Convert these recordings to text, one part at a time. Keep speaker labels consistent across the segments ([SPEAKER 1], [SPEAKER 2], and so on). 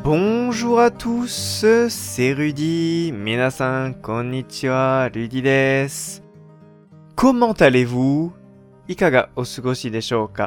[SPEAKER 1] Bonjour à tous, c'est Rudy. Minasan, konnichiwa, Rudy desu. Comment allez-vous? Ikaga o sugoshi deshou ka?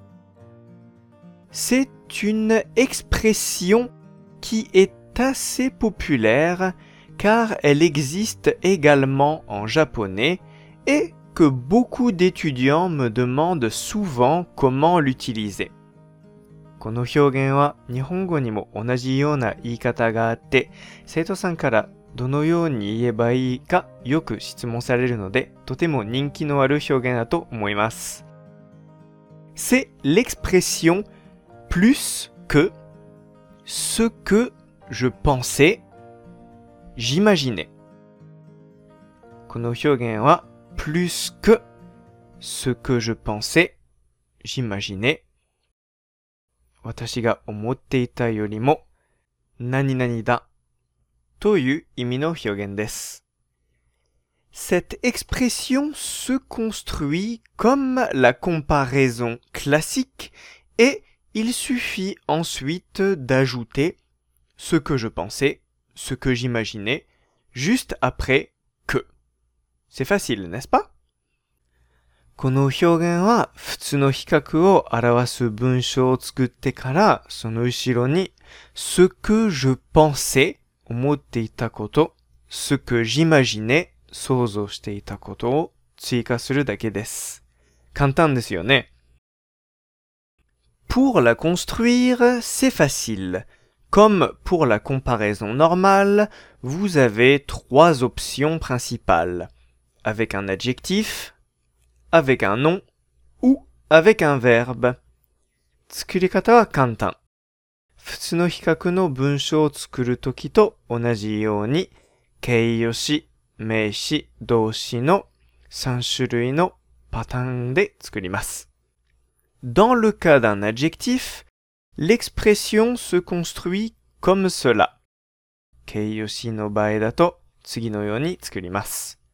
[SPEAKER 1] C'est une expression qui est assez populaire car elle existe également en japonais et que beaucoup d'étudiants me demandent souvent comment l'utiliser. この表現は日本語にも同じような言い方があって、生徒さんからどのように言えばいいかよく質問されるので、とても人気のある表現だと思います。C'est l'expression plus que ce que je pensais, j'imaginais. この表現は plus que ce que je pensais, j'imaginais.私が思っていたよりも何々だという意味の表現です。Cette expression se construit comme la comparaison classique et il suffit ensuite d'ajouter ce que je pensais, ce que j'imaginais, juste après que. C'est facile, n'est-ce pas?この表現は普通の比較を表す文章を作ってからその後ろにce que je pensais 思っていたこと、ce que j'imaginais 想像していたことを追加するだけです。簡単ですよね。Pour la construire, c'est facile. Comme pour la comparaison normale, vous avez trois options principales. Avec un adjectif, avec un nom ou avec un verbe. 作り方は簡単。普通の比較の文章を作るときと同じように形容詞、名詞、動詞の3種類のパターンで作ります。Dans le cas d'un adjectif, l'expression se construit comme cela. 形容詞の場合だと次のように作ります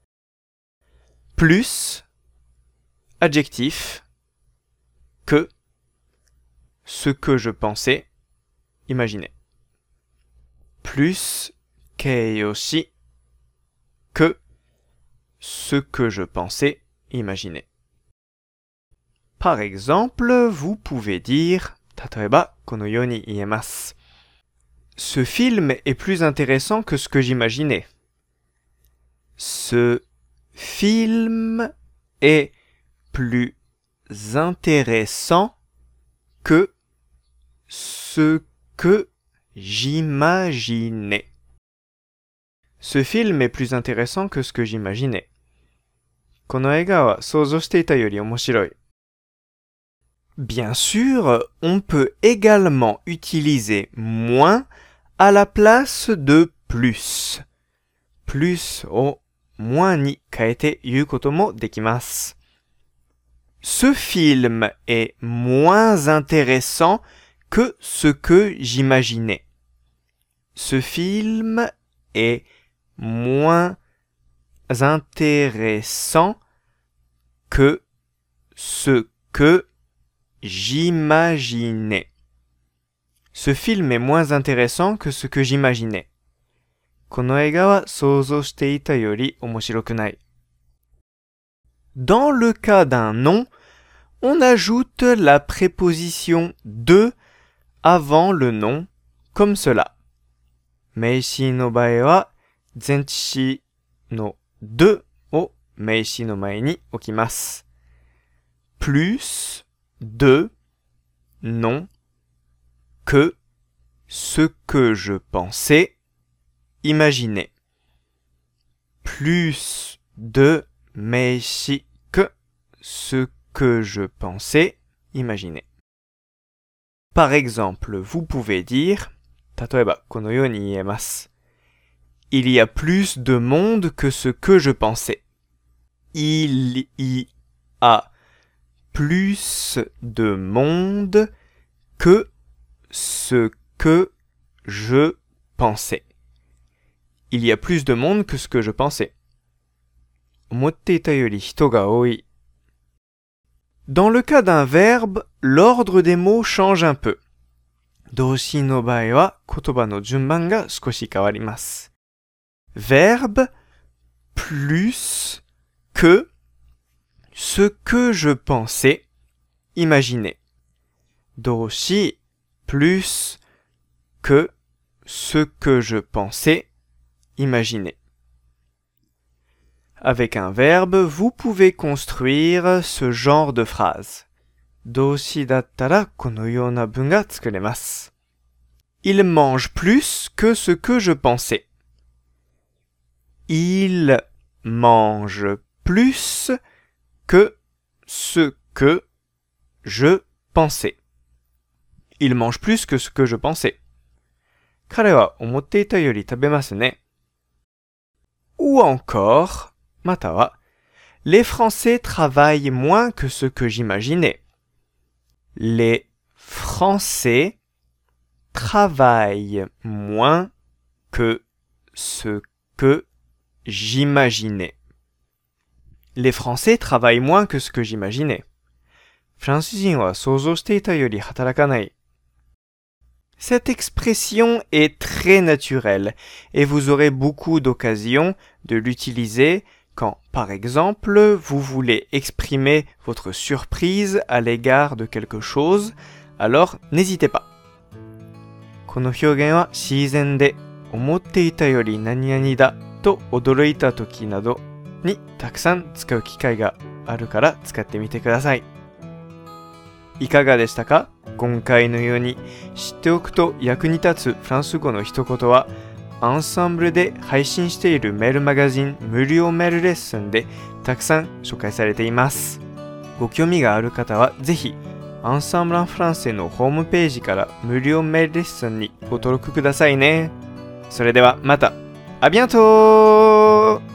[SPEAKER 1] 。plus adjectif, que, ce que je pensais, imaginez. Plus, keiyoshi, que, ce que je pensais, imaginez. Par exemple, vous pouvez dire, 例えば、このように言えます。Ce film est plus intéressant que ce que j'imaginais. Ce film est plus intéressant que ce que j'imaginais. Ce film est plus intéressant que ce que j'imaginais. この映画は想像していたより面白い。Bien sûr, on peut également utiliser moins à la place de plus. Plus をmoinsに変えて言うこともできます。Ce film est moins intéressant que ce que j'imaginais. Ce film est moins intéressant que ce que j'imaginais. Ce film est moins intéressant que ce que j'imaginais. この映画は想像していたより面白くない。Dans le cas d'un nom, on ajoute la préposition de avant le nom, comme cela. 名詞の場合は、前置詞のdeを名詞の前に置きます。plus, de, non, que, ce que je pensais, imaginez. Plus, de, 名詞 que, ce que je pensais, imaginez. Par exemple, vous pouvez dire, 例えばこのように言えます。Il y a plus de monde que ce que je pensais. Il y a plus de monde que ce que je pensais. Il y a plus de monde que ce que je pensais. 思っていたより人が多い。Dans le cas d'un verbe, l'ordre des mots change un peu. 動詞の場合は言葉の順番が少し変わります。Verbe plus que ce que je pensais, imaginer. 動詞 plus que ce que je pensais, imaginer. Avec un verbe, vous pouvez construire ce genre de phrase. 動詞だったらこのような文が作れます。Il mange plus que ce que je pensais. Il mange plus que ce que je pensais. Il mange plus que ce que je pensais. 彼は思っていたより食べますね。Ou encore, または、les Français travaillent moins que ce que j'imaginais. Les Français travaillent moins que ce que j'imaginais. Les Français travaillent moins que ce que j'imaginais. フランス人は想像していたより働かない。Cette expression est très naturelle et vous aurez beaucoup d'occasions de l'utiliser quand, par exemple, vous voulez exprimer votre surprise à l'égard de quelque chose, alors n'hésitez pas. この表現は自然で思っていたより何々だと驚いた時などにたくさん使う機会があるから使ってみてください。いかがでしたか？今回のように知っておくと役に立つフランス語の一言はアンサンブルで配信しているメールマガジン無料メールレッスンでたくさん紹介されています。ご興味がある方はぜひアンサンブル・アン・フランセのホームページから無料メールレッスンにご登録くださいね。それではまた。ありがとう